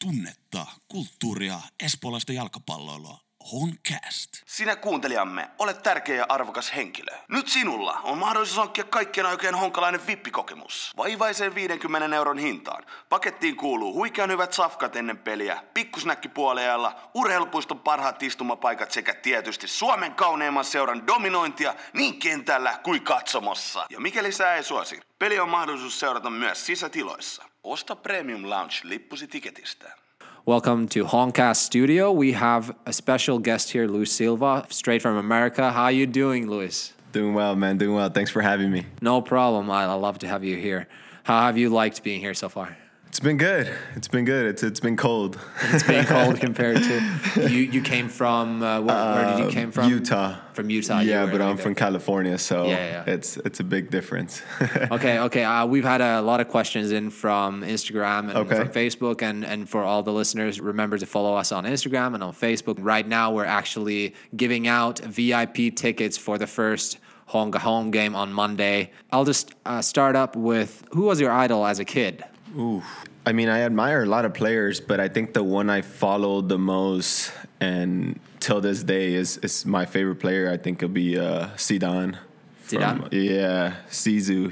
tunnetta, kulttuuria, espoolaista jalkapalloilua. Honcast. Sinä kuuntelijamme, olet tärkeä ja arvokas henkilö. Nyt sinulla on mahdollisuus hankkia kaikkien aikojen honkalainen VIP-kokemus. Vaivaisen 50 euron hintaan. Pakettiin kuuluu huikean hyvät safkat ennen peliä, pikkusnäkki puoliajalla, urheilupuiston parhaat istumapaikat sekä tietysti Suomen kauneimman seuran dominointia niin kentällä kuin katsomossa. Ja mikäli sä ei suosi, peli on mahdollisuus seurata myös sisätiloissa. Osta Premium Lounge-lippusi tiketistä. Welcome to Honcast Studio. We have a special guest here, Luis Silva, straight from America. How are you doing, Luis? Doing well, man. Doing well. Thanks for having me. No problem. I love to have you here. How have you liked being here so far? It's been good. It's been good. It's been cold. It's been cold compared to you came from where did you came from? Utah. From Utah. Yeah, but I'm from California, so yeah. It's a big difference. Okay. We've had a lot of questions in from Instagram and from Facebook, and for all the listeners, remember to follow us on Instagram and on Facebook. Right now, we're actually giving out VIP tickets for the first Honka home game on Monday. I'll just start up with, who was your idol as a kid? Ooh. I mean, I admire a lot of players, but I think the one I followed the most and till this day is my favorite player. I think it'll be Zidane. Zidane? Yeah, Zizou.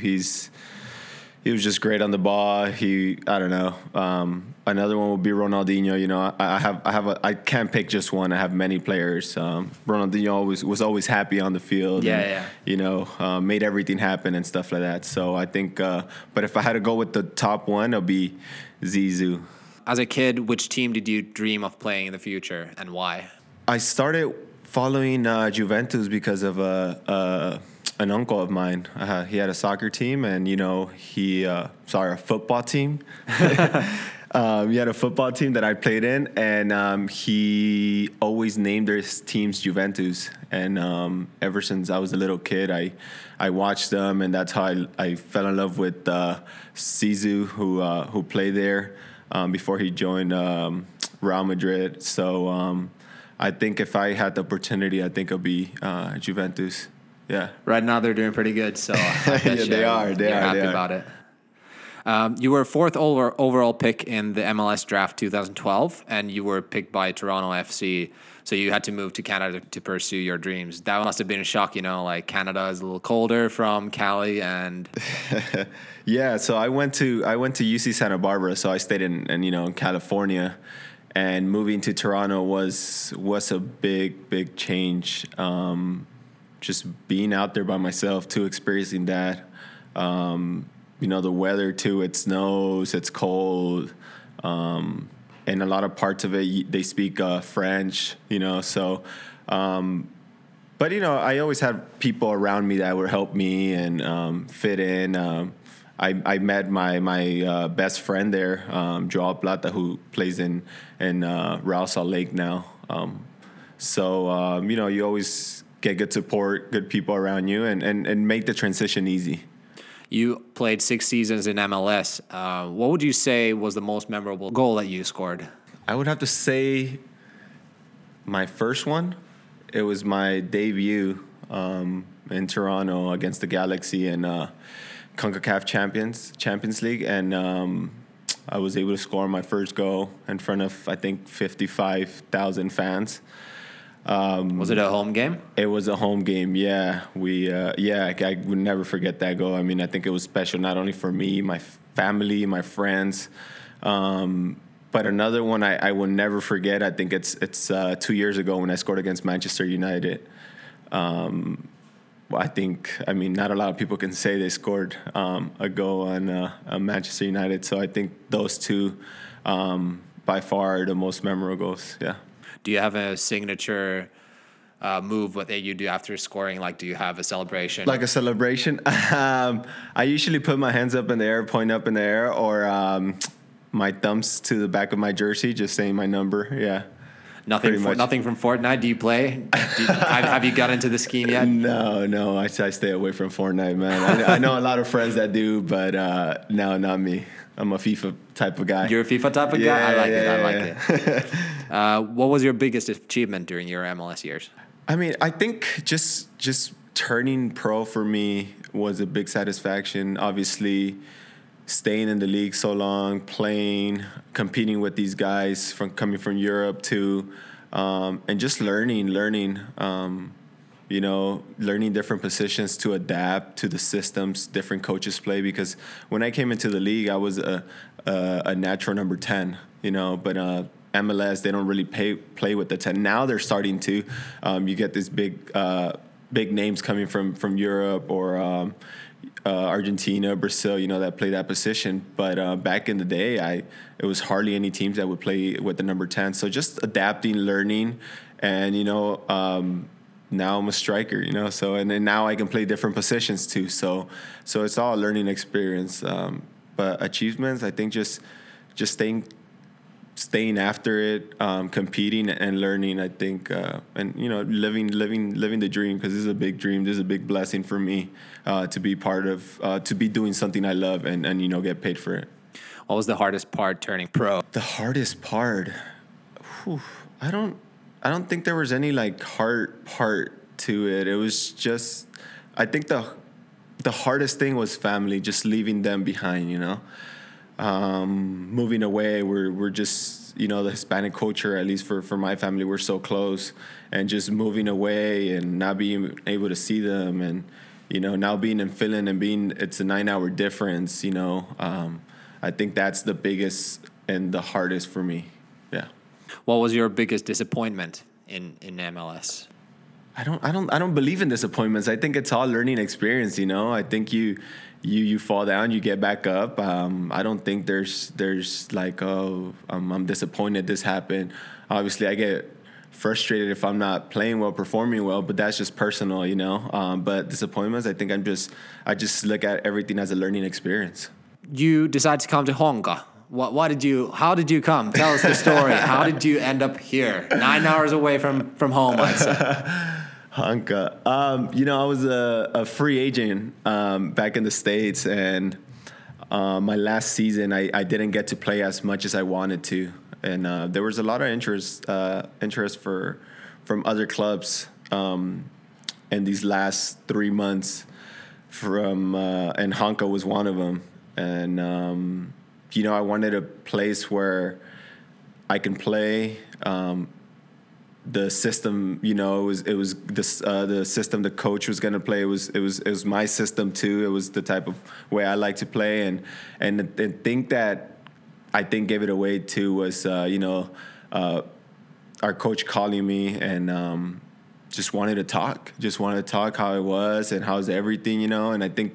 He was just great on the ball. I don't know. Another one would be Ronaldinho. You know, I can't pick just one. I have many players. Ronaldinho was always happy on the field. Yeah. You know, made everything happen and stuff like that. So I think, but if I had to go with the top one, it'll be Zizou. As a kid, which team did you dream of playing in the future and why? I started following Juventus because of an uncle of mine. He had a soccer team, and a football team. He had a football team that I played in, and he always named his teams Juventus. And ever since I was a little kid, I watched them, and that's how I fell in love with Zizou, who played there before he joined Real Madrid. So I think if I had the opportunity, I think it'll be Juventus. Yeah. Right now they're doing pretty good, so I guess they are. You're happy about it. You were fourth overall pick in the MLS draft 2012, and you were picked by Toronto FC. So you had to move to Canada to pursue your dreams. That must have been a shock, like Canada is a little colder from Cali, and yeah. So I went to UC Santa Barbara, so I stayed in California, and moving to Toronto was a big change. Just being out there by myself, too, experiencing that. The weather, too, it snows, it's cold. And a lot of parts of it, they speak French, so. But, I always had people around me that would help me and fit in. I met my best friend there, Joao Plata, who plays in Real Salt Lake now. You always get good support, good people around you, and make the transition easy. You played 6 seasons in MLS. What would you say was the most memorable goal that you scored? I would have to say my first one. It was my debut in Toronto against the Galaxy in CONCACAF Champions League, and I was able to score my first goal in front of, I think, 55,000 fans. Was it a home game? It was a home game, yeah. I would never forget that goal. I mean, I think it was special not only for me, my family, my friends, but another one I will never forget. I think it's 2 years ago when I scored against Manchester United. Not a lot of people can say they scored a goal on Manchester United. So I think those two, by far, are the most memorable goals, yeah. Do you have a signature move that you do after scoring? Like, do you have a celebration? Like a celebration? I usually put my hands up in the air, point up in the air, or my thumbs to the back of my jersey, just saying my number. Yeah. Nothing from Fortnite. Do you play? Have you got into the scheme yet? No. I stay away from Fortnite, man. I know a lot of friends that do, but no, not me. I'm a FIFA type of guy. You're a FIFA type of guy? I like it. Yeah. What was your biggest achievement during your MLS years? I mean, I think just turning pro for me was a big satisfaction. Obviously, staying in the league so long, playing, competing with these guys coming from Europe too, and just learning, learning different positions to adapt to the systems different coaches play. Because when I came into the league, I was a natural number 10, but MLS, they don't really play with the 10. Now they're starting to. You get these big names coming from Europe or Argentina, Brazil, that play that position. But back in the day, it was hardly any teams that would play with the number 10. So just adapting, learning, and now I'm a striker, so and then now I can play different positions too. So it's all a learning experience. But achievements, I think just staying after it, competing and learning, I think, and living the dream, because this is a big dream. This is a big blessing for me to be part of, to be doing something I love and get paid for it. What was the hardest part turning pro? The hardest part, I don't think there was any hard part to it. It was just, I think the hardest thing was family, just leaving them behind, moving away. We're just, the Hispanic culture, at least for my family, we're so close, and just moving away and not being able to see them, and, now being in Finland and it's a 9-hour difference, I think that's the biggest and the hardest for me. Yeah. What was your biggest disappointment in MLS? I don't believe in disappointments. I think it's all learning experience. I think you fall down, you get back up. I don't think there's I'm disappointed this happened. Obviously, I get frustrated if I'm not playing well, performing well, but that's just personal, But disappointments, I think I just look at everything as a learning experience. You decided to come to Honka. How did you come? Tell us the story. How did you end up here? 9 hours away from home, I'd say. Honka. I was a free agent back in the States, and my last season I didn't get to play as much as I wanted to, and there was a lot of interest from other clubs in these last 3 months, and Honka was one of them, and I wanted a place where I can play. The system, it was the system the coach was going to play. It was my system too. It was the type of way I like to play, and the thing that I think gave it away too was our coach calling me and just wanted to talk how it was and how's everything, and I think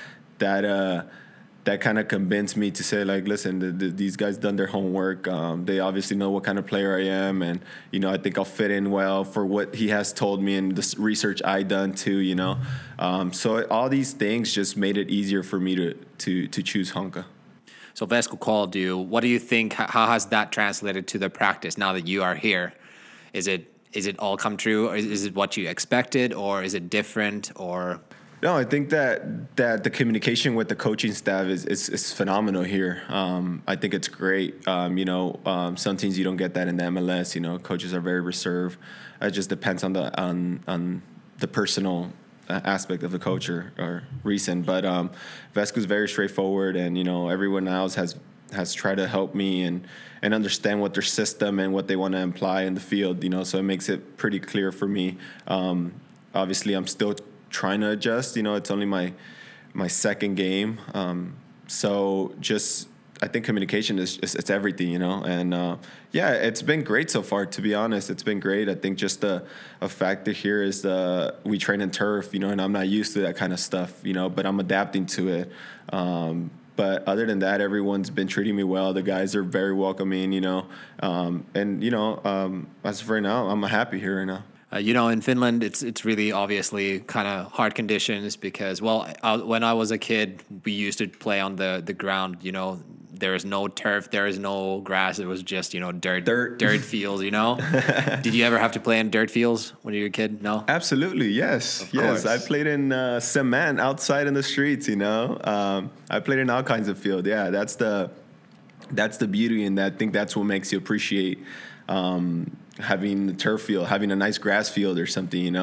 that kind of convinced me to say, listen, these guys done their homework. They obviously know what kind of player I am, and I think I'll fit in well for what he has told me and the research I done too. So all these things just made it easier for me to choose Honka. So Vesku called you. What do you think? How has that translated to the practice now that you are here? Is it all come true? Or is it what you expected, or is it different, or? No, I think that the communication with the coaching staff is phenomenal here. I think it's great. Some teams you don't get that in the MLS. Coaches are very reserved. It just depends on the personal aspect of the coach or reason. But Vesku's very straightforward, and everyone else has tried to help me and understand what their system and what they want to imply in the field. So it makes it pretty clear for me. Obviously, I'm still trying to adjust. It's only my second game, so just I think communication it's everything, and it's been great so far, to be honest. It's been great. I think just a factor here is we train in turf, and I'm not used to that kind of stuff, but I'm adapting to it. But other than that, everyone's been treating me well. The guys are very welcoming, as of right now, I'm happy here right now. In Finland, it's really obviously kind of hard conditions because, when I was a kid, we used to play on the ground. There is no turf, there is no grass. It was just, dirt fields, Did you ever have to play in dirt fields when you were a kid? No? Absolutely, yes. Yes, I played in cement outside in the streets, I played in all kinds of field. Yeah, that's the beauty, and I think that's what makes you appreciate having the turf field, having a nice grass field or something,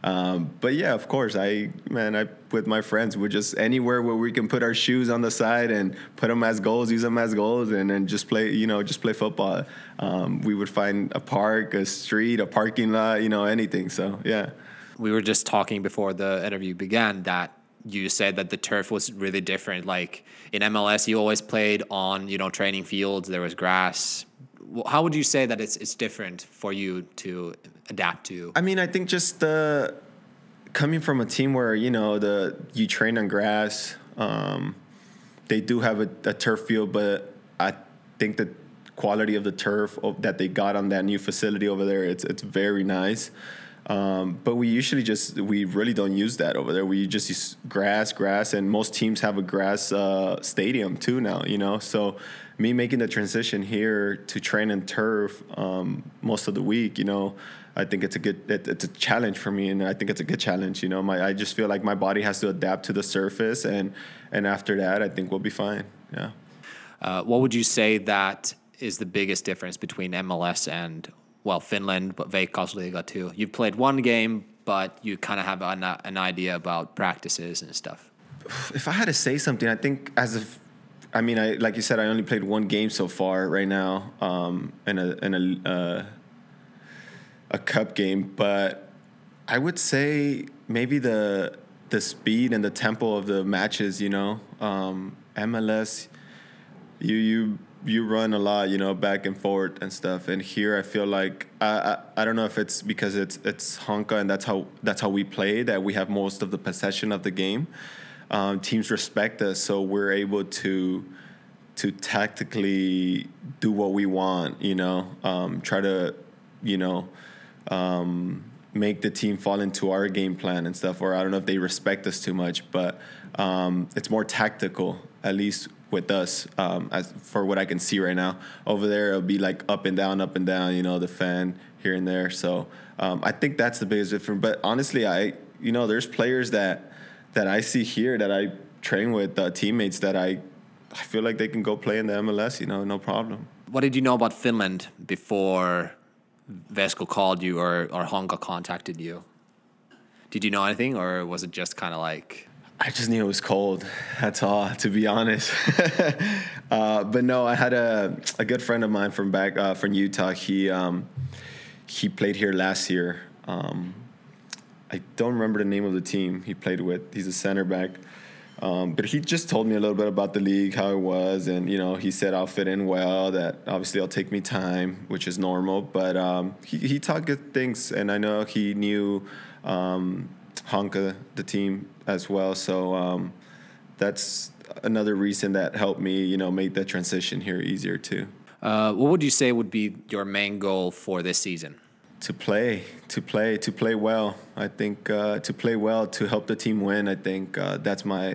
But yeah, of course, I with my friends, we're just anywhere where we can put our shoes on the side and put them as goals, use them as goals, and then just play football. We would find a park, a street, a parking lot, anything. So yeah. We were just talking before the interview began that you said that the turf was really different. Like in MLS, you always played on, training fields. There was grass. How would you say that it's different for you to adapt to? I mean, I think just coming from a team where, you train on grass, they do have a turf field, but I think the quality of the turf that they got on that new facility over there, it's very nice. But we really don't use that over there. We just use grass, and most teams have a grass stadium too now, So me making the transition here to train in turf most of the week, I think it's a challenge for me, and I think it's a good challenge. I just feel like my body has to adapt to the surface, and after that, I think we'll be fine. Yeah. What would you say that is the biggest difference between MLS and Finland, but Veikkausliiga too? You've played one game, but you kind of have an idea about practices and stuff. If I had to say something, I think like you said, I only played one game so far right now, in a cup game, but I would say maybe the speed and the tempo of the matches. MLS, you run a lot, back and forth and stuff. And here I feel like I don't know if it's because it's Honka and that's how we play, that we have most of the possession of the game. Teams respect us, so we're able to tactically do what we want. Try to make the team fall into our game plan and stuff. Or I don't know if they respect us too much, but it's more tactical, at least with us, as for what I can see right now. Over there, it'll be like up and down, the fan here and there. So I think that's the biggest difference. But honestly, there's players that I see here that I train with, teammates that I feel like they can go play in the MLS, no problem. What did you know about Finland before Vesco called you or Honka contacted you? Did you know anything, or was it just kind of like... I just knew it was cold. That's all, to be honest. But no, I had a good friend of mine from Utah. He played here last year. I don't remember the name of the team he played with. He's a center back. But he just told me a little bit about the league, how it was, and he said I'll fit in well. That obviously it'll take me time, which is normal. But he talked good things, and I know he knew Honka, the team, as well. So that's another reason that helped me, make the transition here easier too. What would you say would be your main goal for this season? To play well. I think to play well, to help the team win. I think that's my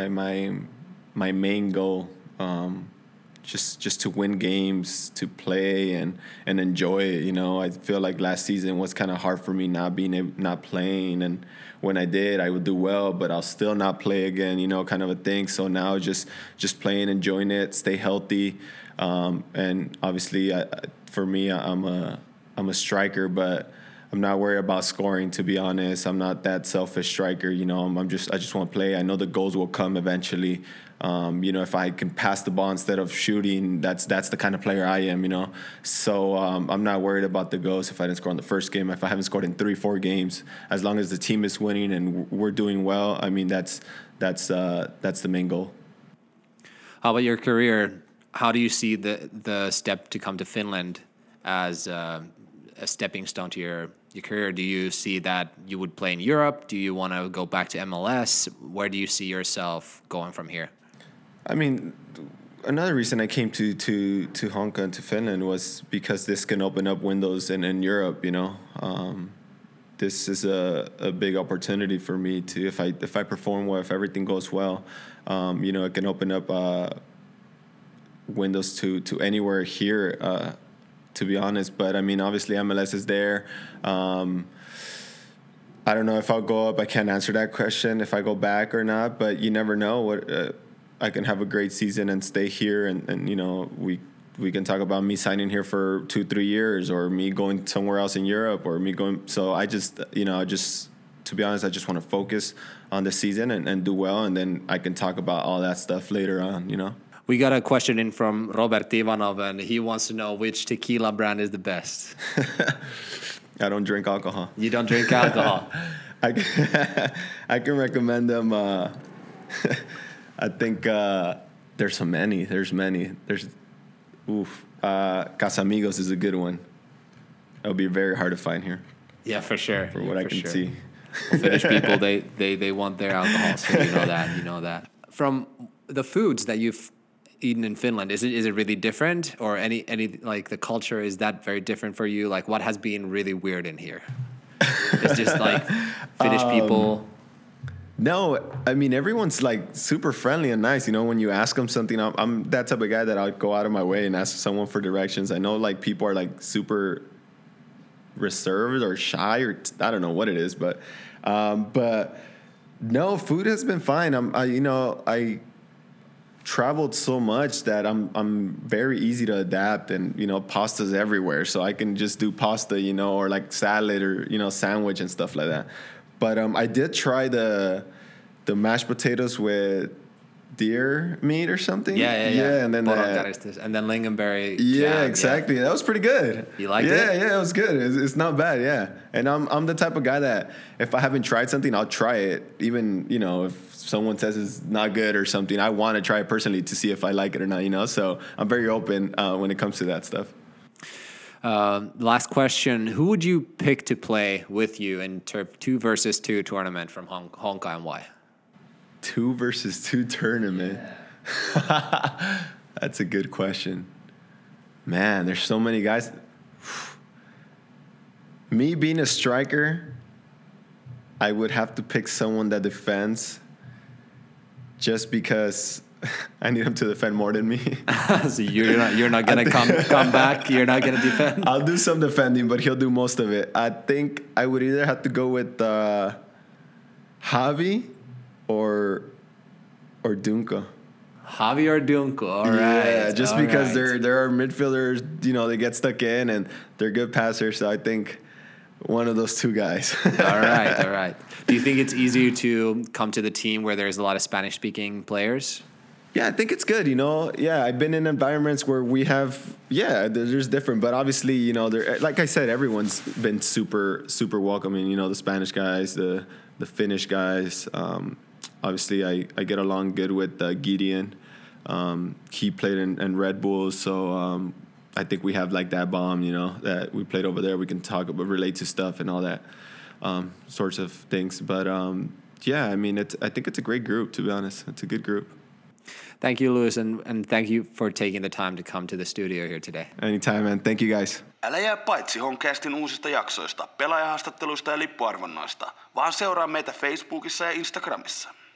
main goal. Just to win games, to play and enjoy it. I feel like last season was kind of hard for me not playing, and when I did, I would do well, but I'll still not play again. Kind of a thing. So now just playing, enjoying it, stay healthy, and obviously for me, I'm a striker, but I'm not worried about scoring, to be honest. I'm not that selfish striker, I just want to play. I know the goals will come eventually. If I can pass the ball instead of shooting, that's the kind of player I am, So I'm not worried about the goals if I didn't score in the first game. If I haven't scored in 3-4 games, as long as the team is winning and we're doing well, I mean, that's the main goal. How about your career? How do you see the step to come to Finland as a stepping stone to your career? Do you see that you would play in Europe? Do you want to go back to MLS? Where do you see yourself going from here? I mean, another reason I came to Honka and to Finland was because this can open up windows in Europe. This is a big opportunity for me to, if I perform well, if everything goes well, it can open up windows to anywhere here. To be honest, but I mean, obviously MLS is there. I don't know if I'll go up. I can't answer that question if I go back or not, but you never know. I can have a great season and stay here, and we can talk about me signing here for 2-3 years, or me going somewhere else in Europe, or me going. So I just to be honest, I just want to focus on the season and do well, and then I can talk about all that stuff later on, you know? We got a question in from Robert Ivanov, and he wants to know which tequila brand is the best. I don't drink alcohol. You don't drink alcohol? I can recommend them. I think there's so many. There's many. Casamigos is a good one. It'll be very hard to find here. Yeah, for sure. For what I can see. Finnish people, they want their alcohol, so you know that. From the foods that you've eaten in Finland, is it really different, or any like the culture, is that very different for you? Like, what has been really weird in here? It's just like Finnish people. No, I mean, everyone's like super friendly and nice. You know, when you ask them something, I'm that type of guy that I'll go out of my way and ask someone for directions. I know like people are like super reserved or shy, or I don't know what it is, but no, food has been fine. I traveled so much that I'm very easy to adapt, and you know, pasta's everywhere, so I can just do pasta, you know, or like salad, or you know, sandwich and stuff like that. But I did try the mashed potatoes with deer meat or something. Yeah. And then lingonberry. Yeah, jam, exactly. Yeah. That was pretty good. You liked it? Yeah, it was good. It's not bad. Yeah, and I'm the type of guy that if I haven't tried something, I'll try it. Even, you know, if someone says it's not good or something, I want to try it personally to see if I like it or not. You know, so I'm very open when it comes to that stuff. Last question: who would you pick to play with you in 2 versus 2 tournament from Honka, and why? 2 versus 2 tournament. Yeah. That's a good question. Man, there's so many guys. Me being a striker, I would have to pick someone that defends, just because I need him to defend more than me. So you're not gonna come back. You're not gonna defend. I'll do some defending, but he'll do most of it. I think I would either have to go with Javi or Dunko. Javi or Dunko. All right. Yeah, just because they're midfielders, you know, they get stuck in and they're good passers. So I think one of those 2 guys. All right. Do you think it's easier to come to the team where there's a lot of Spanish-speaking players? Yeah, I think it's good, you know. Yeah, I've been in environments where we have, there's different. But obviously, you know, like I said, everyone's been super, super welcoming. You know, the Spanish guys, the Finnish guys. Obviously, I get along good with Gideon. He played in Red Bull, so I think we have like that bond, you know, that we played over there. We can talk about, relate to stuff and all that sorts of things. But I mean, I think it's a great group, to be honest. It's a good group. Thank you, Lewis, and thank you for taking the time to come to the studio here today. Anytime, man. Thank you, guys. Älä jää paitsi Honcastin uusista jaksoista, pelaajahaastatteluista ja lippuarvonnoista, vaan seuraa meitä Facebookissa ja Instagramissa.